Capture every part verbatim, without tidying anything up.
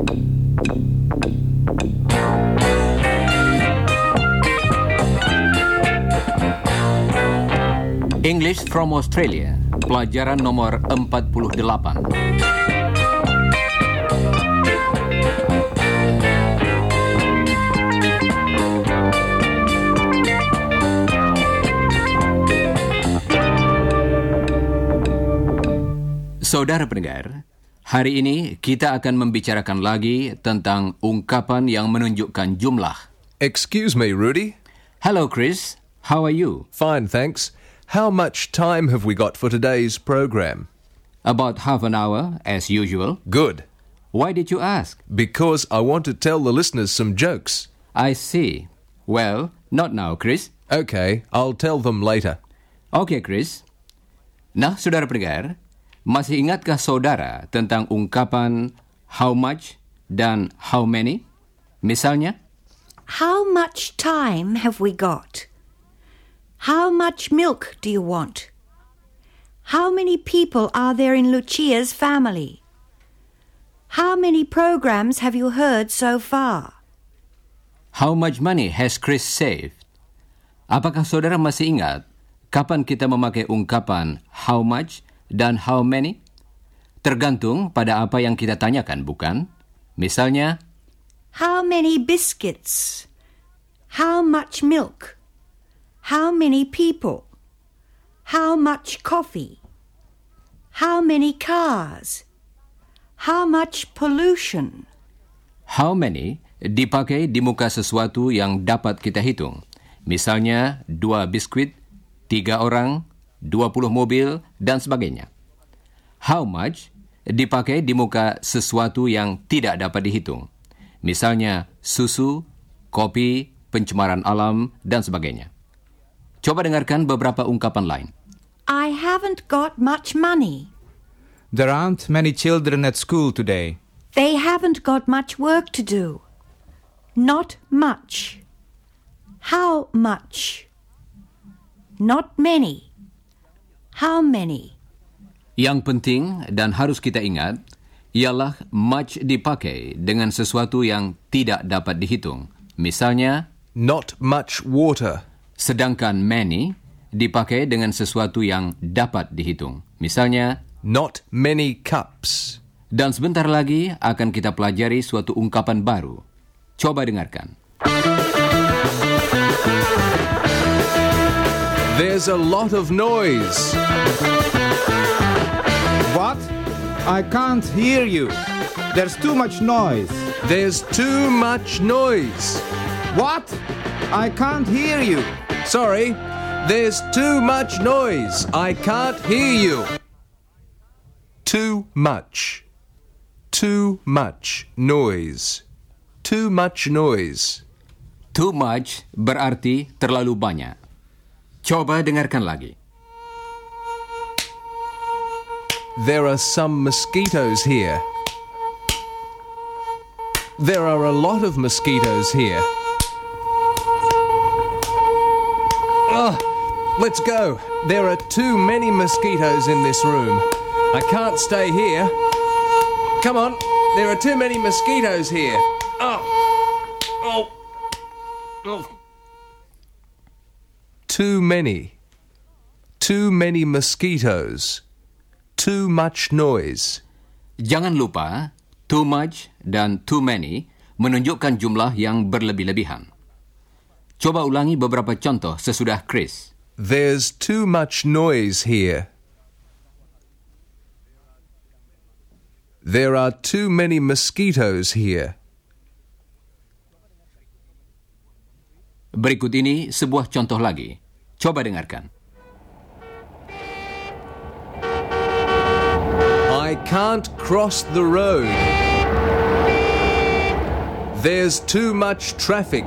English from Australia, pelajaran nomor empat puluh delapan. Saudara pendengar, hari ini kita akan membicarakan lagi tentang ungkapan yang menunjukkan jumlah. Excuse me, Rudy. Hello, Chris. How are you? Fine, thanks. How much time have we got for today's program? About half an hour, as usual. Good. Why did you ask? Because I want to tell the listeners some jokes. I see. Well, not now, Chris. Okay, I'll tell them later. Okay, Chris. Nah, saudara pendengar, masih ingatkah saudara tentang ungkapan how much dan how many? Misalnya, how much time have we got? How much milk do you want? How many people are there in Lucia's family? How many programs have you heard so far? How much money has Chris saved? Apakah saudara masih ingat kapan kita memakai ungkapan how much dan how many? Tergantung pada apa yang kita tanyakan, bukan? Misalnya, how many biscuits? How much milk? How many people? How much coffee? How many cars? How much pollution? How many dipakai di muka sesuatu yang dapat kita hitung. Misalnya, dua biskuit, tiga orang, dua puluh mobil, dan sebagainya. How much dipakai di muka sesuatu yang tidak dapat dihitung. Misalnya, susu, kopi, pencemaran alam, dan sebagainya. Coba dengarkan beberapa ungkapan lain. I haven't got much money. There aren't many children at school today. They haven't got much work to do. Not much. How much? Not many. How many? Yang penting dan harus kita ingat ialah much dipakai dengan sesuatu yang tidak dapat dihitung. Misalnya, not much water. Sedangkan many dipakai dengan sesuatu yang dapat dihitung. Misalnya, not many cups. Dan sebentar lagi akan kita pelajari suatu ungkapan baru. Coba dengarkan. There's a lot of noise. What? I can't hear you. There's too much noise. There's too much noise. What? I can't hear you. Sorry, there's too much noise. I can't hear you. Too much. Too much noise. Too much noise. Too much berarti terlalu banyak. Coba dengarkan lagi. There are some mosquitoes here. There are a lot of mosquitoes here. Oh, let's go. There are too many mosquitoes in this room. I can't stay here. Come on. There are too many mosquitoes here. Oh. Oh. Oh. Too many. Too many mosquitoes. Too much noise. Jangan lupa, too much dan too many menunjukkan jumlah yang berlebih-lebihan. Coba ulangi beberapa contoh sesudah Chris. There's too much noise here. There are too many mosquitoes here. Berikut ini sebuah contoh lagi. Coba dengarkan. I can't cross the road. There's too much traffic.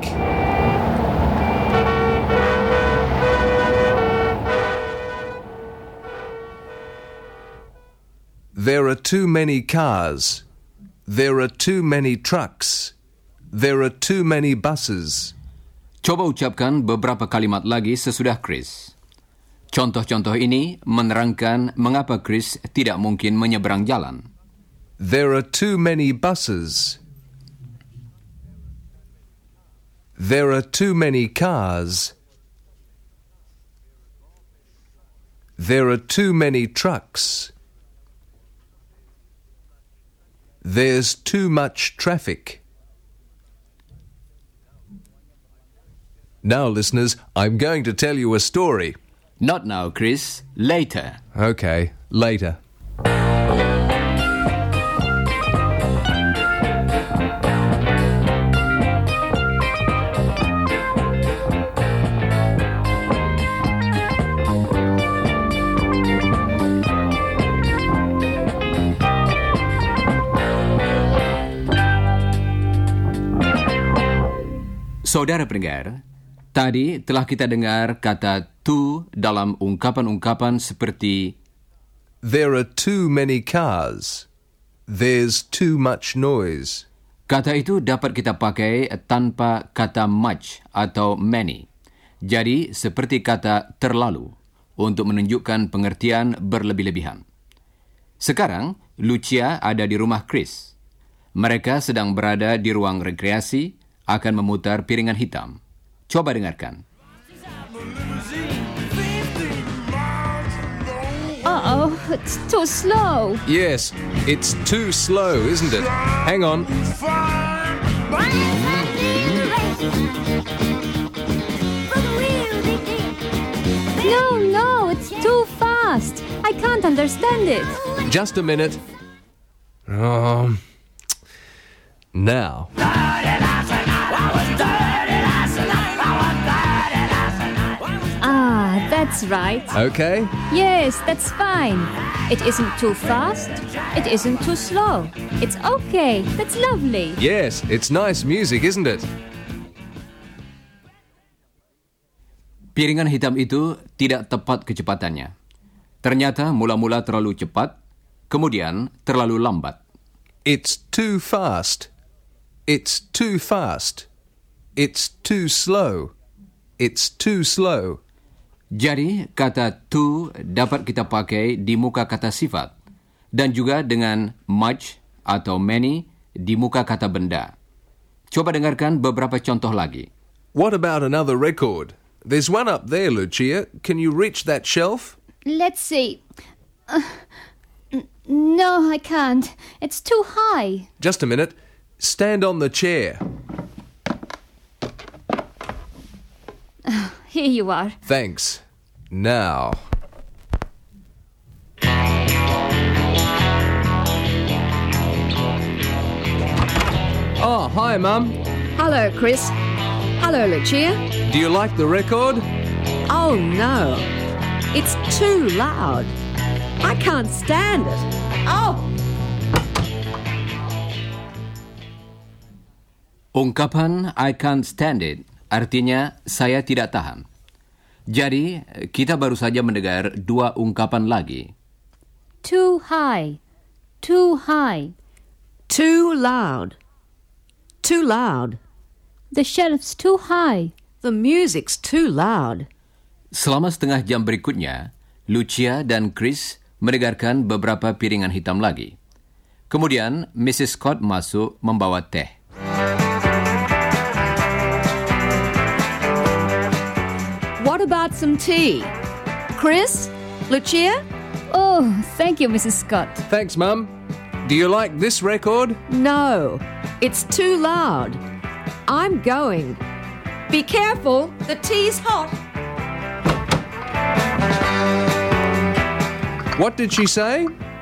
There are too many cars. There are too many trucks. There are too many buses. Coba ucapkan beberapa kalimat lagi sesudah Chris. Contoh-contoh ini menerangkan mengapa Chris tidak mungkin menyeberang jalan. There are too many buses. There are too many cars. There are too many trucks. There's too much traffic. Now, listeners, I'm going to tell you a story. Not now, Chris. Later. Okay, later. Saudara pendengar, tadi telah kita dengar kata to dalam ungkapan-ungkapan seperti There are too many cars. There's too much noise. Kata itu dapat kita pakai tanpa kata much atau many. Jadi, seperti kata terlalu untuk menunjukkan pengertian berlebih-lebihan. Sekarang, Lucia ada di rumah Chris. Mereka sedang berada di ruang rekreasi, akan memutar piringan hitam. Coba dengarkan. Uh-oh, it's too slow. Yes, it's too slow, isn't it? Hang on. No, no, it's too fast. I can't understand it. Just a minute. Um, now. Ah, that's right. Okay. Yes, that's fine. It isn't too fast. It isn't too slow. It's okay. That's lovely. Yes, it's nice music, isn't it? Piringan hitam itu tidak tepat kecepatannya. Ternyata mula-mula terlalu cepat, kemudian terlalu lambat. It's too fast. It's too fast. It's too slow. It's too slow. Jadi, kata to dapat kita pakai di muka kata sifat dan juga dengan much atau many di muka kata benda. Coba dengarkan beberapa contoh lagi. What about another record? There's one up there, Lucia. Can you reach that shelf? Let's see. Uh, n- no, I can't. It's too high. Just a minute. Stand on the chair. Here you are. Thanks. Now. Oh, hi, Mum. Hello, Chris. Hello, Lucia. Do you like the record? Oh, no. It's too loud. I can't stand it. Oh! Ungkapan I can't stand it artinya saya tidak tahan. Jadi, kita baru saja mendengar dua ungkapan lagi. Too high. Too high. Too loud. Too loud. The shelf's too high. The music's too loud. Selama setengah jam berikutnya, Lucia dan Chris mendengarkan beberapa piringan hitam lagi. Kemudian, Missus Scott masuk membawa teh. What about some tea? Chris? Lucia? Oh, thank you, Missus Scott. Thanks, Mum. Do you like this record? No. It's too loud. I'm going. Be careful. The tea's hot. What did she say?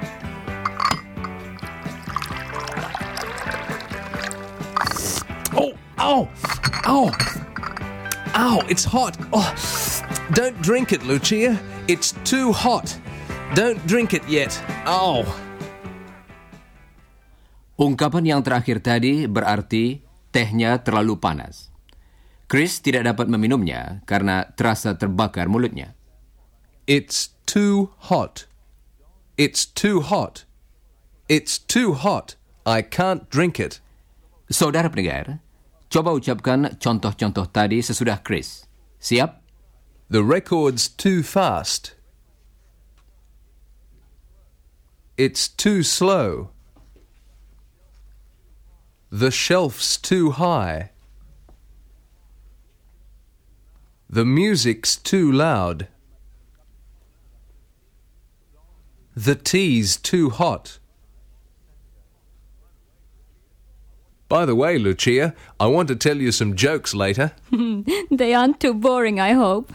Oh, oh, oh, ow, it's hot. Oh, don't drink it, Lucia. It's too hot. Don't drink it yet. Oh. Ungkapan yang terakhir tadi berarti tehnya terlalu panas. Chris tidak dapat meminumnya karena terasa terbakar mulutnya. It's too hot. It's too hot. It's too hot. I can't drink it. Saudara pendengar, coba ucapkan contoh-contoh tadi sesudah Chris. Siap? The record's too fast. It's too slow. The shelf's too high. The music's too loud. The tea's too hot. By the way, Lucia, I want to tell you some jokes later. They aren't too boring, I hope.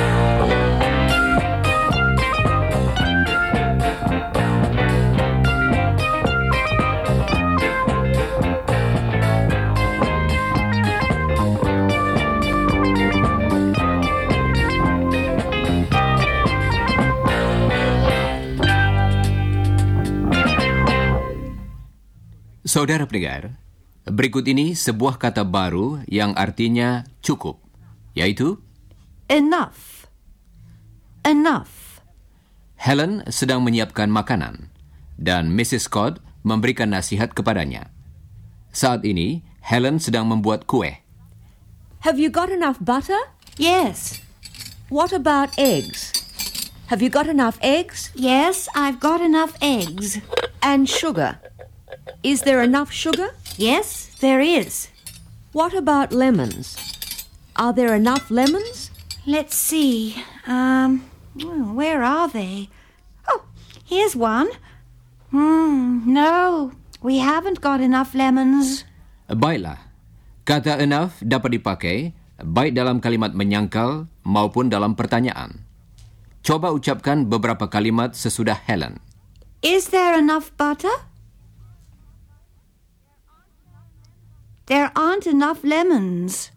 Saudara pendengar, berikut ini sebuah kata baru yang artinya cukup, yaitu Enough. Enough. Helen sedang menyiapkan makanan dan Missus Scott memberikan nasihat kepadanya. Saat ini, Helen sedang membuat kue. Have you got enough butter? Yes. What about eggs? Have you got enough eggs? Yes, I've got enough eggs. And sugar? Is there enough sugar? Yes, there is. What about lemons? Are there enough lemons? Let's see. Um, oh, where are they? Oh, here's one. Hmm, no, we haven't got enough lemons. Baiklah, kata enough dapat dipakai baik dalam kalimat menyangkal maupun dalam pertanyaan. Coba ucapkan beberapa kalimat sesudah Helen. Is there enough butter? There aren't enough lemons.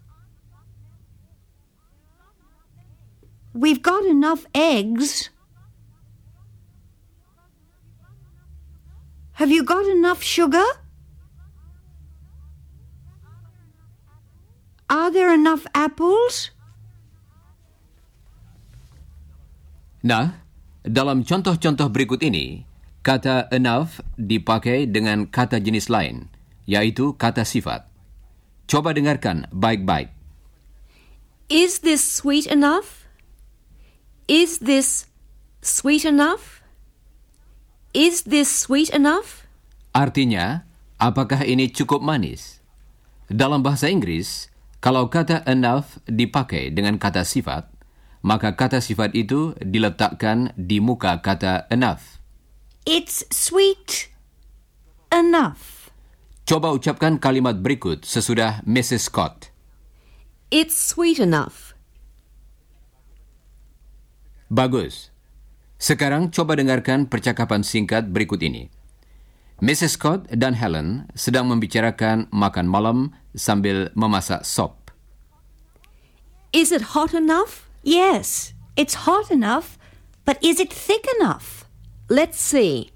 We've got enough eggs. Have you got enough sugar? Are there enough apples? Nah, dalam contoh-contoh berikut ini, kata enough dipakai dengan kata jenis lain, yaitu kata sifat. Coba dengarkan baik-baik. Is this sweet enough? Is this sweet enough? Is this sweet enough? Artinya, apakah ini cukup manis? Dalam bahasa Inggris, kalau kata enough dipakai dengan kata sifat, maka kata sifat itu diletakkan di muka kata enough. It's sweet enough. Coba ucapkan kalimat berikut sesudah Missus Scott. It's sweet enough. Bagus. Sekarang coba dengarkan percakapan singkat berikut ini. Missus Scott dan Helen sedang membicarakan makan malam sambil memasak sop. Is it hot enough? Yes, it's hot enough, but is it thick enough? Let's see.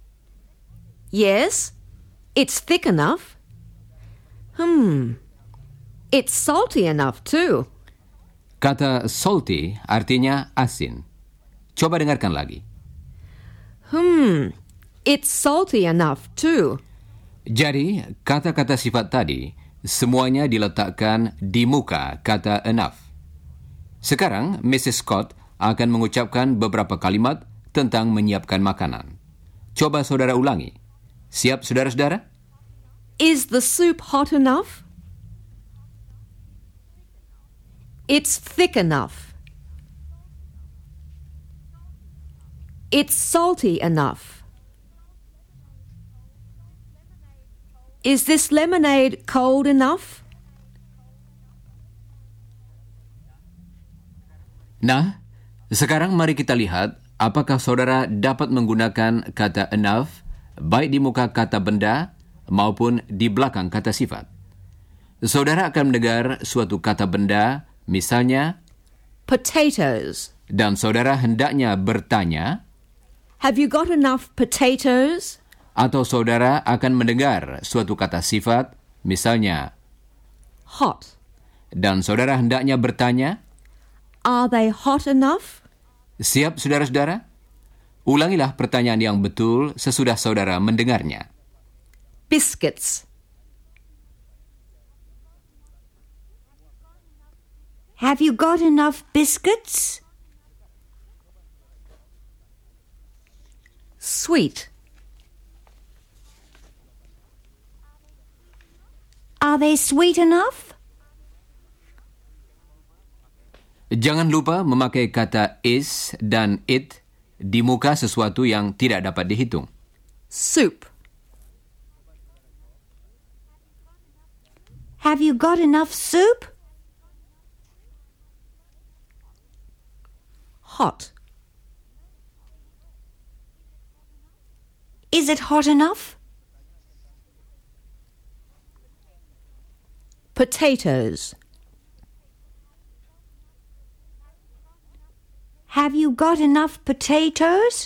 Yes, it's thick enough. Hmm. It's salty enough too. Kata salty artinya asin. Coba dengarkan lagi. Hmm. It's salty enough too. Jadi, kata-kata sifat tadi semuanya diletakkan di muka kata enough. Sekarang, Missus Scott akan mengucapkan beberapa kalimat tentang menyiapkan makanan. Coba saudara ulangi. Siap, saudara-saudara? Is the soup hot enough? It's thick enough. It's salty enough. Is this lemonade cold enough? Nah, sekarang mari kita lihat apakah saudara dapat menggunakan kata enough baik di muka kata benda maupun di belakang kata sifat. Saudara akan mendengar suatu kata benda, misalnya Potatoes. dan saudara hendaknya bertanya, Have you got enough potatoes? atau saudara akan mendengar suatu kata sifat, misalnya Hot. dan saudara hendaknya bertanya, Are they hot enough? siap saudara-saudara? Ulangilah pertanyaan yang betul sesudah saudara mendengarnya. Biscuits. Have you got enough biscuits? Sweet. Are they sweet enough? Jangan lupa memakai kata is dan it di muka sesuatu yang tidak dapat dihitung. Soup. Have you got enough soup? Hot. Is it hot enough? Potatoes. Have you got enough potatoes?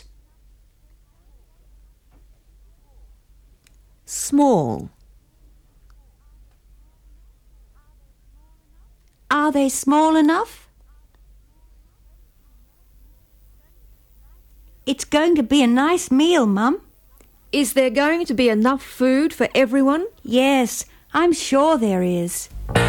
Small. Are they small enough? It's going to be a nice meal, Mum. Is there going to be enough food for everyone? Yes, I'm sure there is.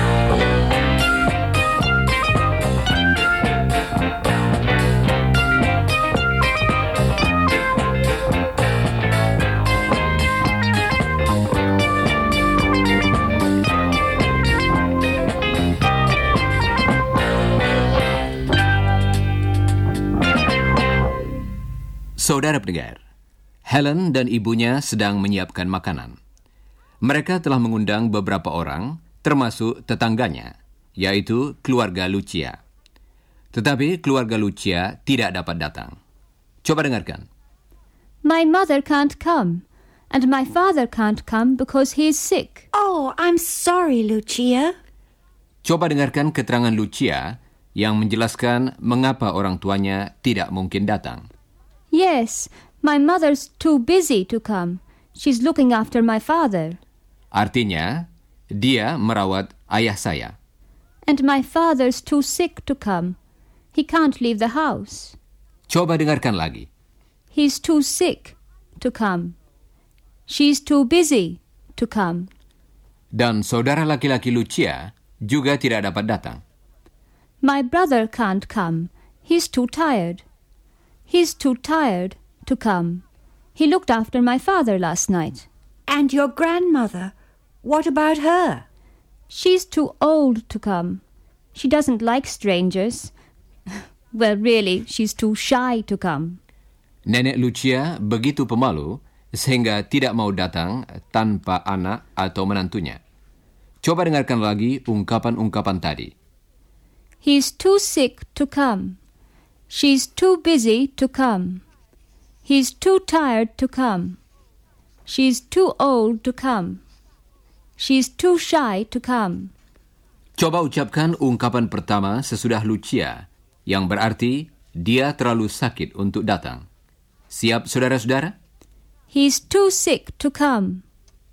Saudara pendengar, Helen dan ibunya sedang menyiapkan makanan. Mereka telah mengundang beberapa orang, termasuk tetangganya, yaitu keluarga Lucia. Tetapi keluarga Lucia tidak dapat datang. Coba dengarkan. My mother can't come, and my father can't come because he is sick. Oh, I'm sorry, Lucia. Coba dengarkan keterangan Lucia yang menjelaskan mengapa orang tuanya tidak mungkin datang. Yes, my mother's too busy to come. She's looking after my father. Artinya, dia merawat ayah saya. And my father's too sick to come. He can't leave the house. Coba dengarkan lagi. He's too sick to come. She's too busy to come. Dan saudara laki-laki Lucia juga tidak dapat datang. My brother can't come. He's too tired. He's too tired to come. He looked after my father last night. And your grandmother, what about her? She's too old to come. She doesn't like strangers. Well, really, she's too shy to come. Nenek Lucia begitu pemalu sehingga tidak mau datang tanpa anak atau menantunya. Coba dengarkan lagi ungkapan-ungkapan tadi. He's too sick to come. She's too busy to come. He's too tired to come. She's too old to come. She's too shy to come. Coba ucapkan ungkapan pertama sesudah Lucia, yang berarti dia terlalu sakit untuk datang. Siap, saudara-saudara? He's too sick to come.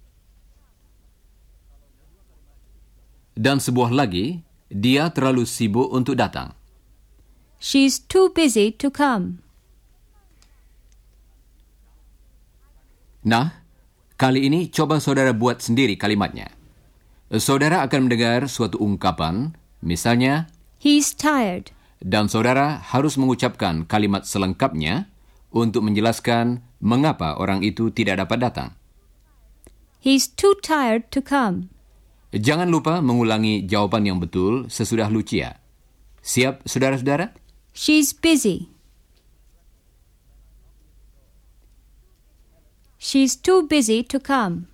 Dan sebuah lagi, dia terlalu sibuk untuk datang. She's too busy to come. Nah, kali ini coba saudara buat sendiri kalimatnya. Saudara akan mendengar suatu ungkapan, misalnya, He's tired. Dan saudara harus mengucapkan kalimat selengkapnya untuk menjelaskan mengapa orang itu tidak dapat datang. He's too tired to come. Jangan lupa mengulangi jawaban yang betul sesudah Lucia. Siap, saudara-saudara? She's busy. She's too busy to come.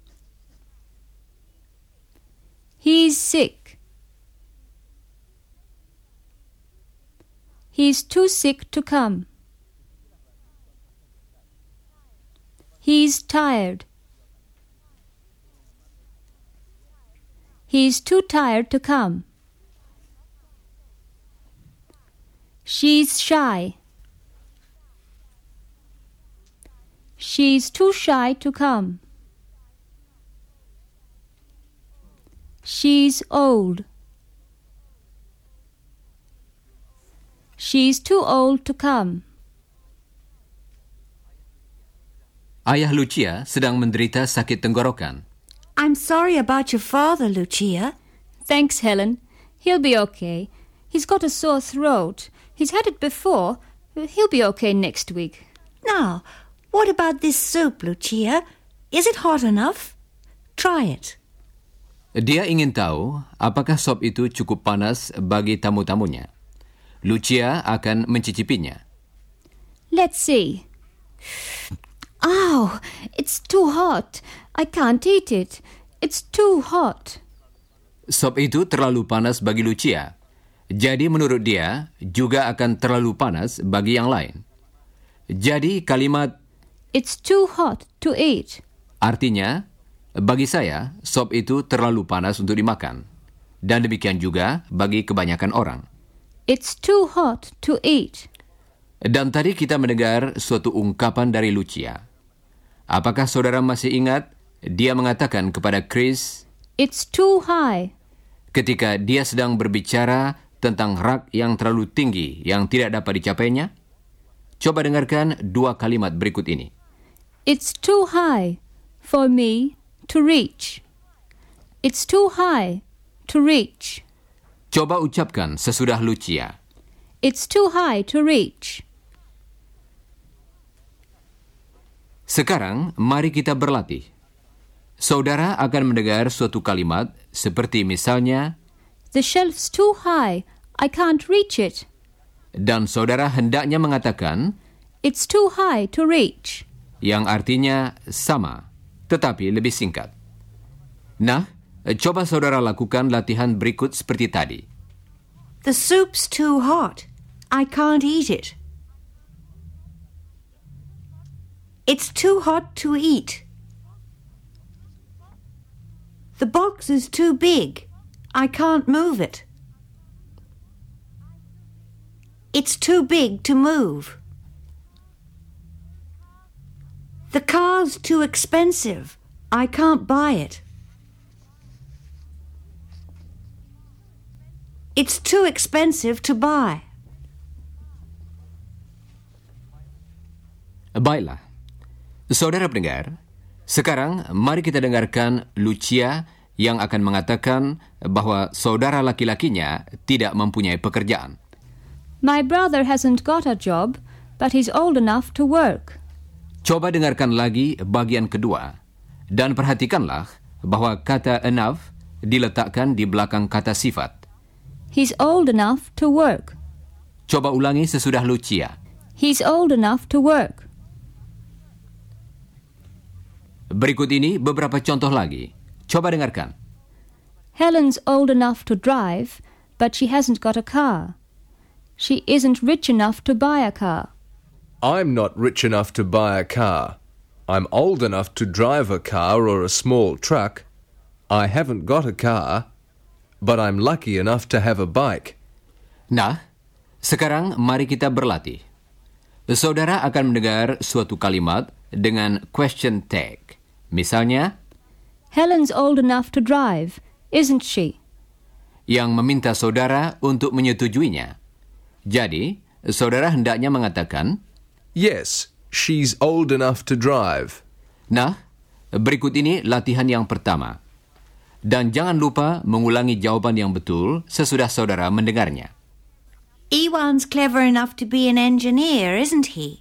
He's sick. He's too sick to come. He's tired. He's too tired to come. She's shy. She's too shy to come. She's old. She's too old to come. Ayah Lucia sedang menderita sakit tenggorokan. I'm sorry about your father, Lucia. Thanks, Helen. He'll be okay. He's got a sore throat. He's had it before. He'll be okay next week. Now, what about this soup, Lucia? Is it hot enough? Try it. Dia ingin tahu apakah sop itu cukup panas bagi tamu-tamunya. Lucia akan mencicipinya. Let's see. Oh, it's too hot. I can't eat it. It's too hot. Sop itu terlalu panas bagi Lucia. Jadi menurut dia, juga akan terlalu panas bagi yang lain. Jadi kalimat It's too hot to eat artinya, bagi saya, sop itu terlalu panas untuk dimakan. Dan demikian juga bagi kebanyakan orang. It's too hot to eat. Dan tadi kita mendengar suatu ungkapan dari Lucia. Apakah saudara masih ingat dia mengatakan kepada Chris, It's too high. Ketika dia sedang berbicara tentang rak yang terlalu tinggi yang tidak dapat dicapainya? Coba dengarkan dua kalimat berikut ini. It's too high for me to reach. It's too high to reach. Coba ucapkan sesudah Lucia. It's too high to reach. Sekarang, mari kita berlatih. Saudara akan mendengar suatu kalimat seperti misalnya, The shelf's too high. I can't reach it. Dan saudara hendaknya mengatakan, It's too high to reach. yang artinya sama, tetapi lebih singkat. Nah, coba saudara lakukan latihan berikut seperti tadi. The soup's too hot. I can't eat it. It's too hot to eat. The box is too big. I can't move it. It's too big to move. The car's too expensive. I can't buy it. It's too expensive to buy. Baiklah. Saudara pendengar, sekarang mari kita dengarkan Lucia yang akan mengatakan bahwa saudara laki-lakinya tidak mempunyai pekerjaan. My brother hasn't got a job, but he's old enough to work. Coba dengarkan lagi bagian kedua dan perhatikanlah bahwa kata enough diletakkan di belakang kata sifat. He's old enough to work. Coba ulangi sesudah Lucia. He's old enough to work. Berikut ini beberapa contoh lagi. Coba dengarkan. Helen's old enough to drive, but she hasn't got a car. She isn't rich enough to buy a car. I'm not rich enough to buy a car. I'm old enough to drive a car or a small truck. I haven't got a car, but I'm lucky enough to have a bike. Nah, sekarang mari kita berlatih. Saudara akan mendengar suatu kalimat dengan question tag. Misalnya, Helen's old enough to drive, isn't she? Yang meminta saudara untuk menyetujuinya. Jadi, saudara hendaknya mengatakan, Yes, she's old enough to drive. Nah, berikut ini latihan yang pertama. Dan jangan lupa mengulangi jawaban yang betul sesudah saudara mendengarnya. Ewan's clever enough to be an engineer, isn't he?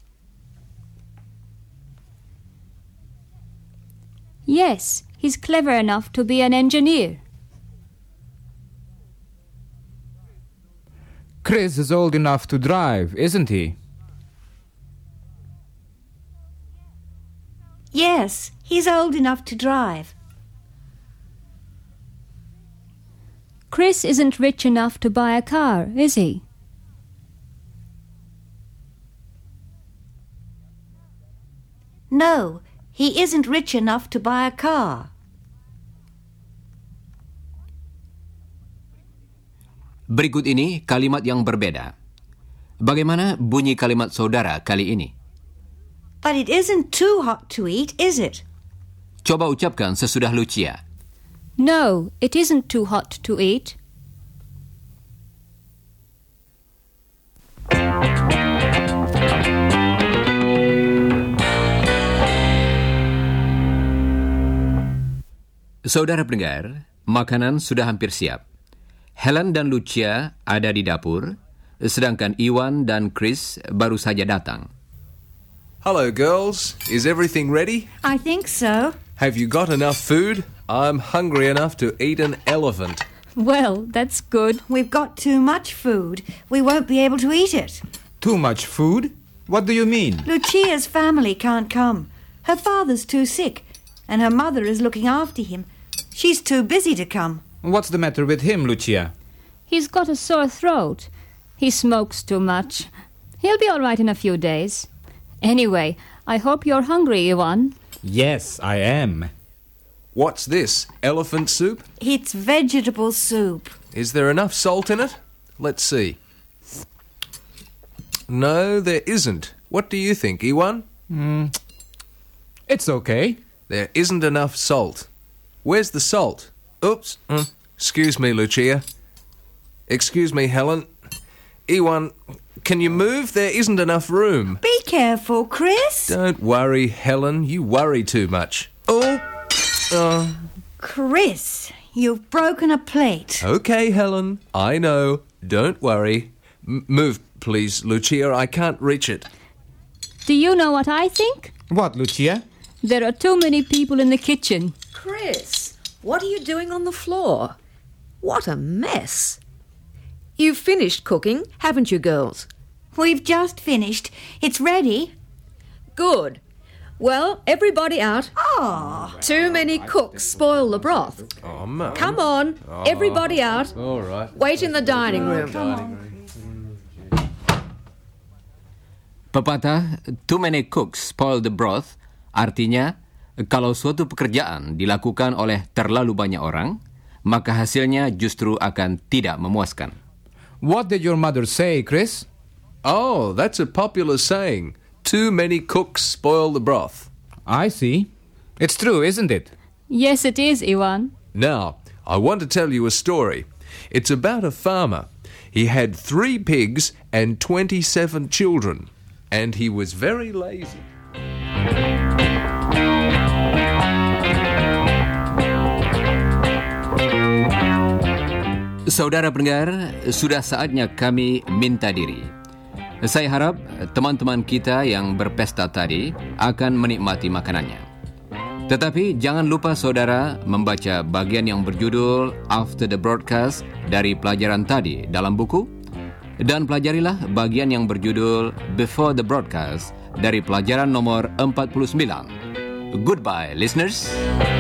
Yes, he's clever enough to be an engineer. Chris is old enough to drive, isn't he? Yes, he's old enough to drive. Chris isn't rich enough to buy a car, is he? No, he isn't rich enough to buy a car. Berikut ini kalimat yang berbeda. Bagaimana bunyi kalimat saudara kali ini? But it isn't too hot to eat, is it? Coba ucapkan sesudah Lucia. No, it isn't too hot to eat. Saudara pendengar, makanan sudah hampir siap. Helen dan Lucia ada di dapur, sedangkan Iwan dan Chris baru saja datang. Hello, girls. Is everything ready? I think so. Have you got enough food? I'm hungry enough to eat an elephant. Well, that's good. We've got too much food. We won't be able to eat it. Too much food? What do you mean? Lucia's family can't come. Her father's too sick, and her mother is looking after him. She's too busy to come. What's the matter with him, Lucia? He's got a sore throat. He smokes too much. He'll be all right in a few days. Anyway, I hope you're hungry, Ivan. Yes, I am. What's this? Elephant soup? It's vegetable soup. Is there enough salt in it? Let's see. No, there isn't. What do you think, Iwan? Mm, it's okay. There isn't enough salt. Where's the salt? Oops. Mm. Excuse me, Lucia. Excuse me, Helen. Iwan, can you move? There isn't enough room. Be careful, Chris. Don't worry, Helen. You worry too much. Oh. Uh. Chris, you've broken a plate. Okay, Helen. I know. Don't worry. M- move, please, Lucia. I can't reach it. Do you know what I think? What, Lucia? There are too many people in the kitchen. Chris, what are you doing on the floor? What a mess. You've finished cooking, haven't you, girls? We've just finished. It's ready. Good. Well, everybody out. Oh. Too many cooks spoil the broth. Oh, Mum. Come on, everybody out. All right. Wait in the dining room. Pepatah too many cooks spoil the broth artinya kalau suatu pekerjaan dilakukan oleh terlalu banyak orang, maka hasilnya justru akan tidak memuaskan. What did your mother say, Chris? Oh, that's a popular saying. Too many cooks spoil the broth. I see. It's true, isn't it? Yes, it is, Ivan. Now, I want to tell you a story. It's about a farmer. He had three pigs and twenty-seven children, and he was very lazy. Saudara pendengar, sudah saatnya kami minta diri. Saya harap teman-teman kita yang berpesta tadi akan menikmati makanannya. Tetapi jangan lupa saudara membaca bagian yang berjudul After the Broadcast dari pelajaran tadi dalam buku, dan pelajarilah bagian yang berjudul Before the Broadcast dari pelajaran nomor empat puluh sembilan. Goodbye, listeners.